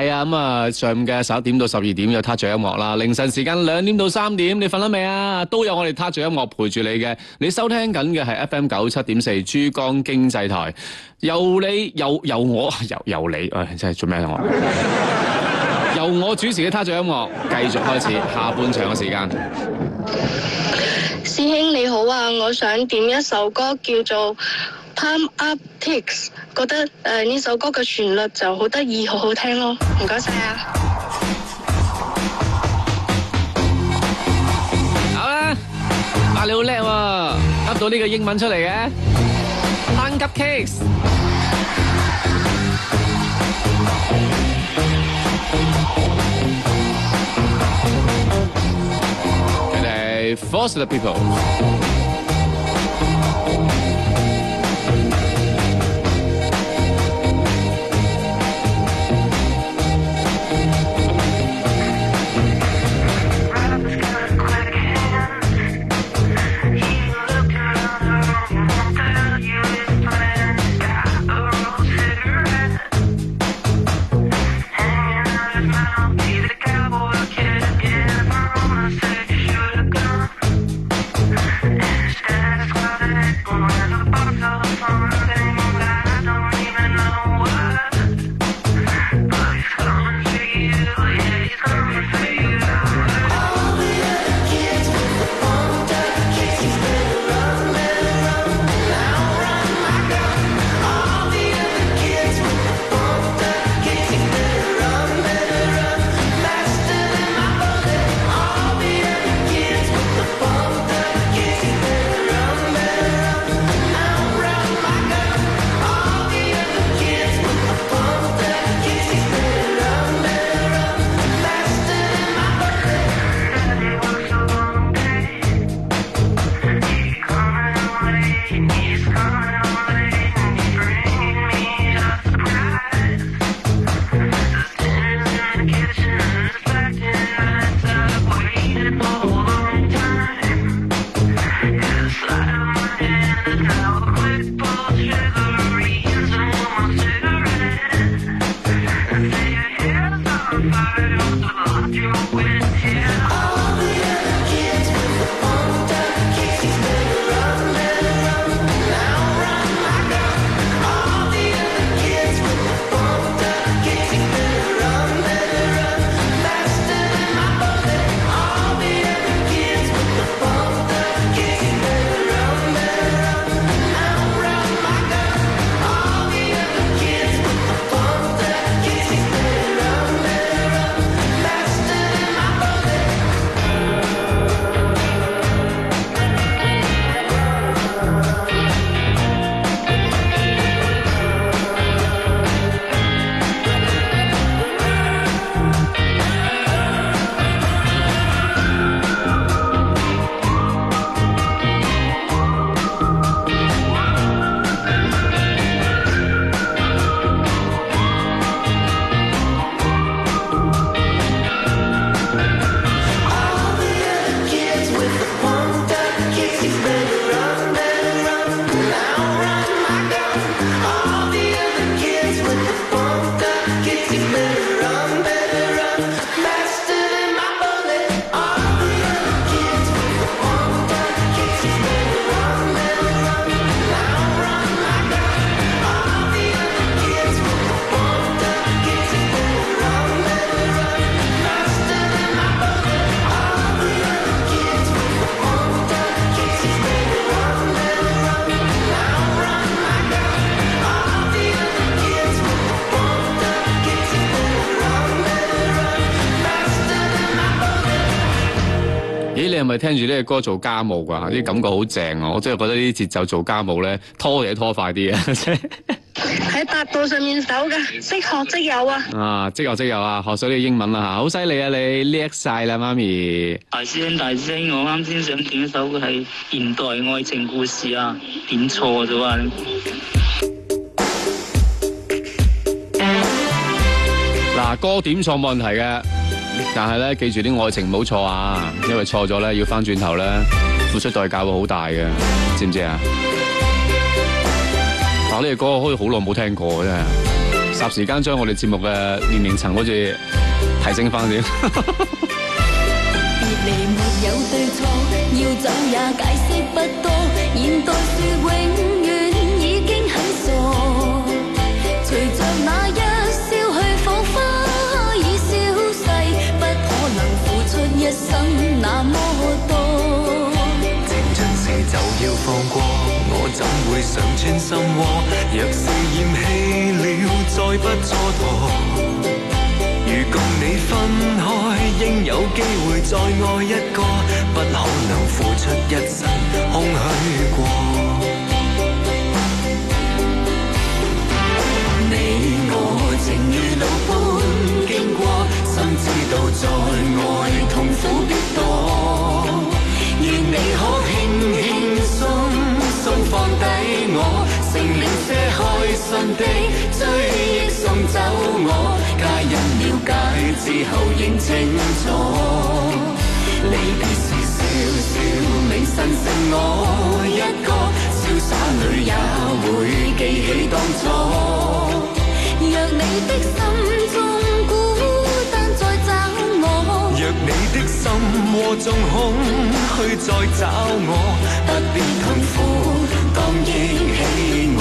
係啊，咁啊上午嘅11點到12點有撻着音樂啦，凌晨時間2點到3點，你瞓咗未啊？都有我哋撻着音樂陪住你嘅。你收聽緊嘅係 FM 97.4珠江經濟台，由你，真係做咩啊我？由我主持嘅撻着音樂繼續開始下半場嘅時間。 師兄你好啊，我想點一首歌叫做 Pump Up Kicks， 覺得呢首歌嘅旋律就好得意，好好聽咯，唔該晒啊！ 好啦，你好叻喎，噏到呢個英文出嚟嘅 Pump Up Kicks。佢哋 Force the People。你係咪聽住呢個歌做家務㗎？啲感覺好正啊！我真係覺得呢啲節奏做家務咧，拖嘢拖快啲啊！ 喺百度上面搜㗎，即學即有啊！ 啊，即學即有啊！學咗呢個英文啦嚇，好犀利啊！你叻晒啦，媽咪！ 大師兄，我啱先想點一首嘅係現代愛情故事啊，點錯咗啊！ 嗱，歌點錯冇問題嘅。但係咧，記住啲愛情唔好錯啊，因為錯咗咧，要翻轉頭咧，付出代價會好大嘅，知唔知啊？但呢個歌好似好耐冇聽過真係， 霎時間將我哋節目嘅年齡層好似提升翻啲。 別離沒有對錯，要走也解釋不多。現代說永遠已經很傻，隨着那一消去火花已消逝，不可能付出一生那麼多。 情盡時就要放過，我怎會想穿心窩？若是厭棄了，再不蹉跎。如共你分開，應有機會再愛一個，不可能付出一生空虛過。你我情如路般經過，心知道在愛痛苦必多。願你可輕輕鬆鬆放低我，剩了些開心的追憶送走我。皆因了解之後認清楚，離別時笑笑未神剩我一個，瀟灑裏也會記起當初。若你的心中孤單再找我，若你的心窩中空虛再找我，不必痛苦，當憶起我。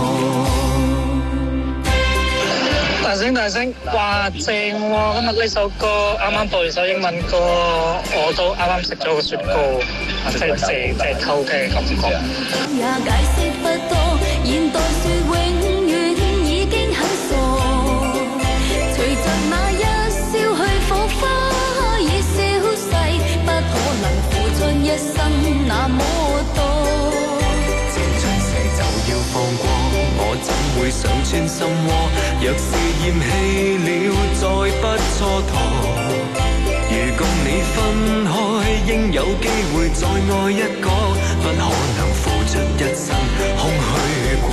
大聲，哇正喎！今日呢首歌啱啱播完首英文歌，我都啱啱食咗個雪糕，真係正，真係偷聽嘅感覺。 也解釋不多，現代說永遠已經很傻，隨着那一消去火花已消逝，不可能付出一生那麼多。 情盡時就要放過，我怎會想穿心窩？若是厭棄了，再不蹉跎。如共你分開，應有機會再愛一個，不可能付出一生空虛過。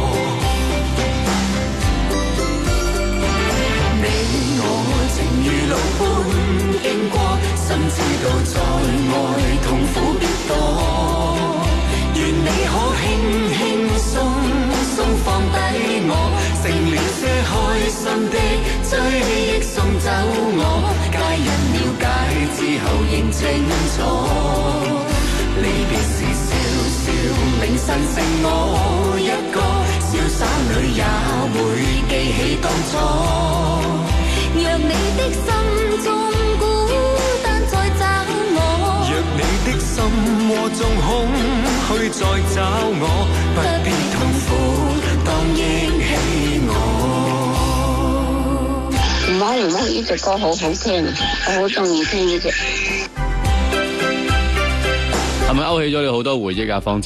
你我情如路般經過，心知道在愛痛苦必多。願你可輕輕鬆鬆放低我，剩了些開心的追憶送走我。皆因了解之後認清楚，離別時笑笑明晨剩我一個，瀟灑裏也會記起當初。 若你的心中孤單再找我， 若你的心窩中空虛再找我，不必痛苦，當憶起我。 唔好，呢隻歌好好聽，我好中意聽呢隻。 係咪勾起咗你好多回憶啊，芳姐？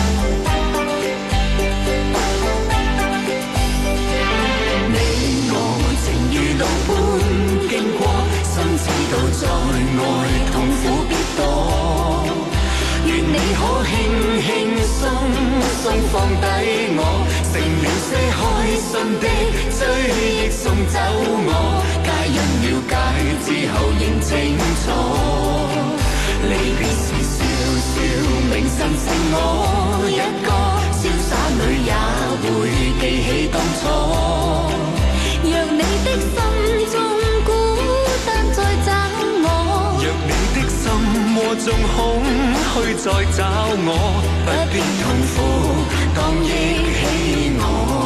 你我情如路般經過，心知道在愛痛苦必多。願你可輕輕鬆鬆放低我，剩了些開心的追憶送走我。皆因了解之後認清楚，離別時笑笑明晨剩我一個，瀟灑裏也會記起當初。 若你的心中孤單再找我， 若你的心窩中空虛再找我，不必痛苦，當憶起我。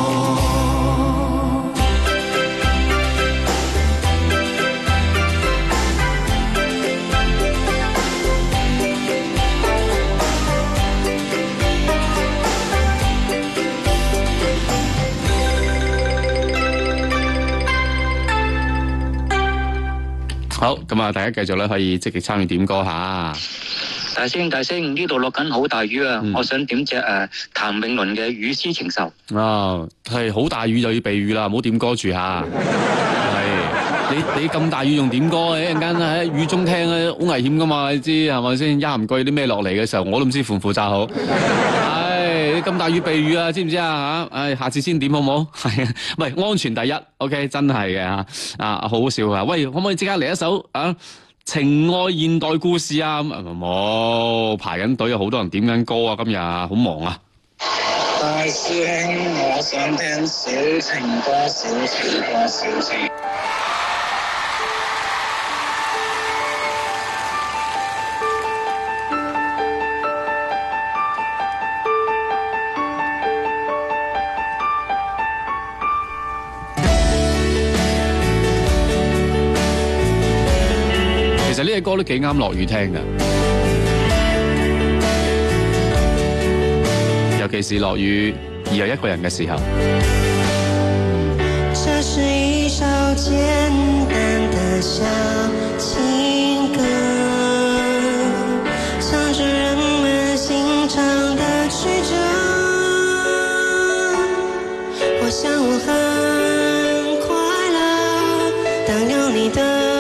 好，咁啊，大家繼續咧可以積極參與點歌下。 大聲，呢度落緊好大雨啊！我想點隻譚詠麟嘅《雨絲情愁》。 係好大雨就要避雨啦，唔好點歌住下。係你咁大雨用點歌？一陣間喺雨中聽咧，好危險噶嘛，你知係咪先？一唔覺啲咩落嚟嘅時候，我都唔知負唔負責好。你咁大雨避雨啊，知唔知啊？下次先點好唔好？係啊，喂，安全第一 ，OK， 真係嘅好好笑啊！喂，可唔可以即刻嚟一首情愛現代故事啊？冇排緊隊，有好多人點緊歌啊！今日好忙啊！ 大師兄，我想聽小情歌，小情歌，小情。 其實呢隻歌都幾啱落雨聽㗎，尤其是落雨而又一個人嘅時候。 這是一首簡單的小情歌，唱着人們心腸的曲折。我想我很快樂，當有你的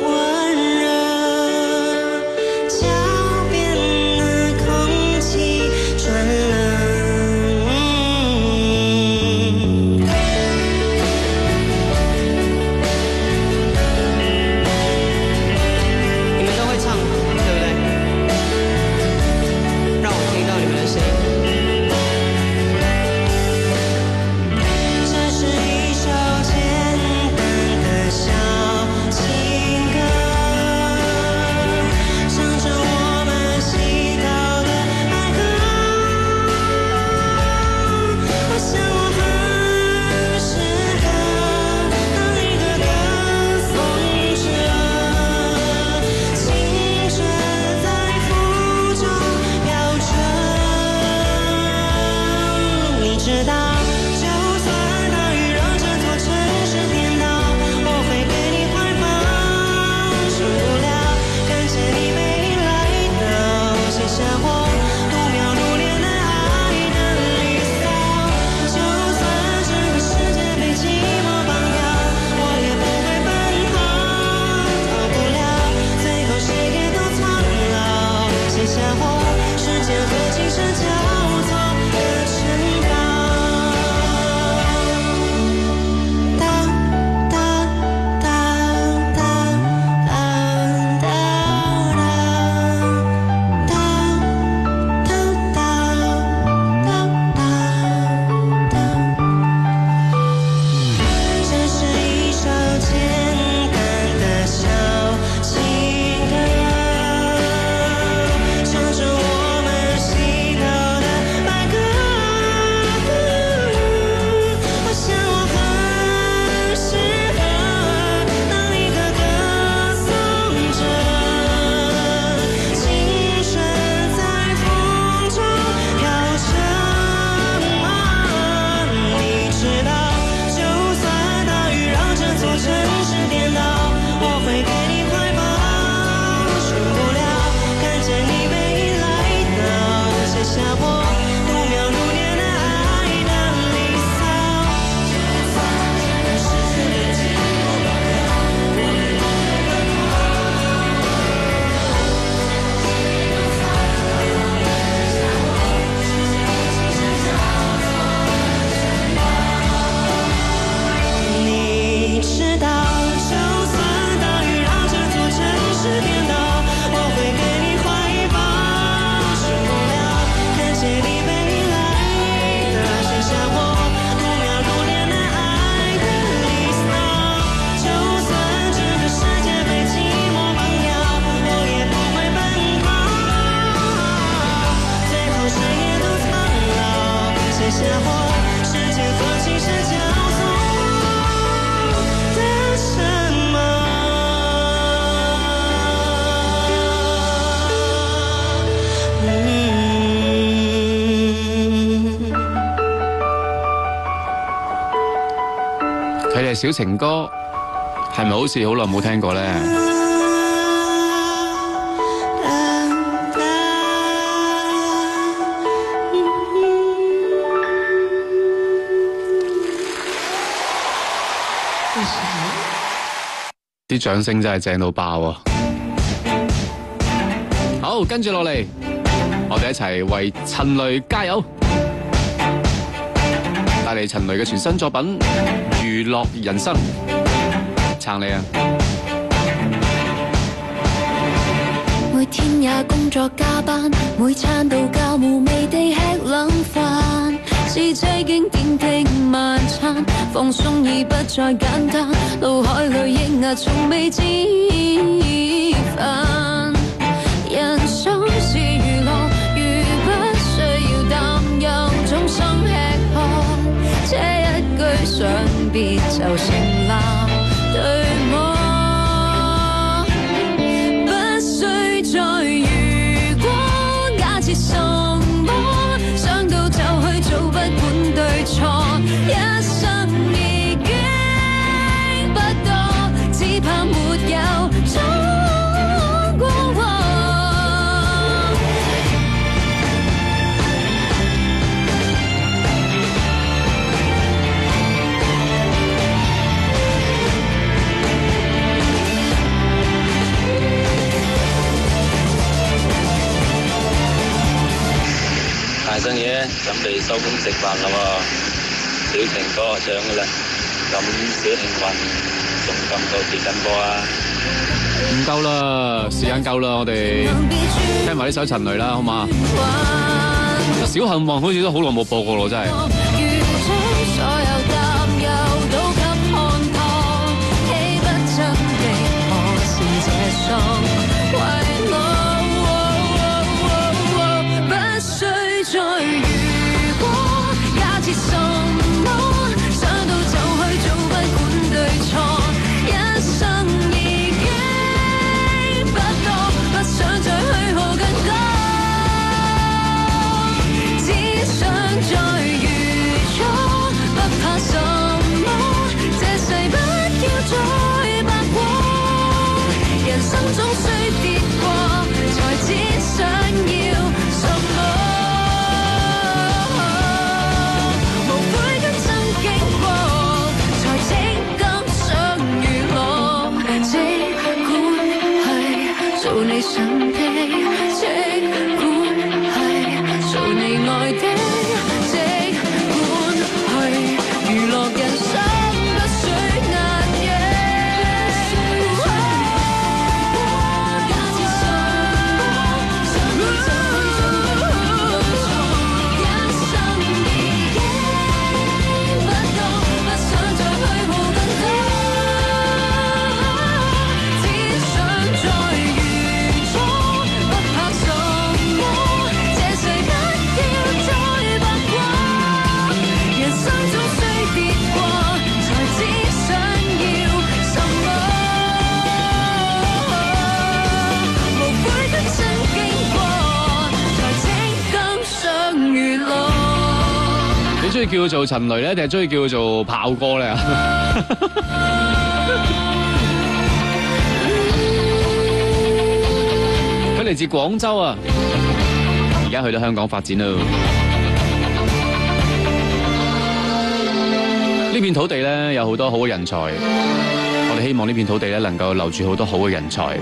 小情歌係咪好似好耐冇聽過呢？啲掌聲真係正到爆啊！好，跟住落嚟，我哋一齊為陳雷加油！帶嚟陳雷嘅全新作品《娛樂人生》，撐你啊！ 每天也工作加班，每餐到覺無味地吃兩飯， 是這經典的晚餐，放鬆已不再簡單，腦海裏抑壓從未知煩。人生是娛樂，如不需要擔憂，終生吃喝，這一句想別就成立，對嗎？不需再如果，假設什麼，想到就去做，不管對錯，一生已經不多，只怕沒有衝過往。 大生嘢準備收工食飯啦喎，小情歌唱噶啦，咁小幸運仲咁多幾緊波啊？ 唔夠啦，時間夠啦，我哋聽埋呢首陳雷啦，好嘛？小幸運好似都好耐冇播過咯，真係。中意叫做陳雷咧，定係中意叫做炮哥咧？佢嚟自廣州啊，而家去到香港發展咯。呢片土地咧有好多好嘅人才，我哋希望呢片土地咧能夠留住好多好嘅人才。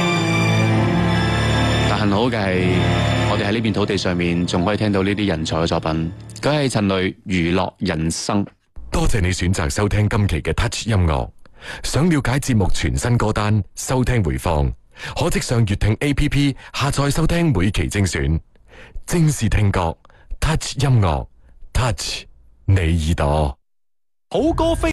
但幸好嘅係，我哋喺呢片土地上面仲可以聽到呢啲人才嘅作品。佢係陳雷娛樂人生。 多謝你選擇收聽今期嘅 Touch 音樂。想了解節目全新歌單、收聽回放，可即上粵聽 APP 下載收聽每期精選。正視聽覺 Touch 音樂 Touch 你耳朵。 好歌飛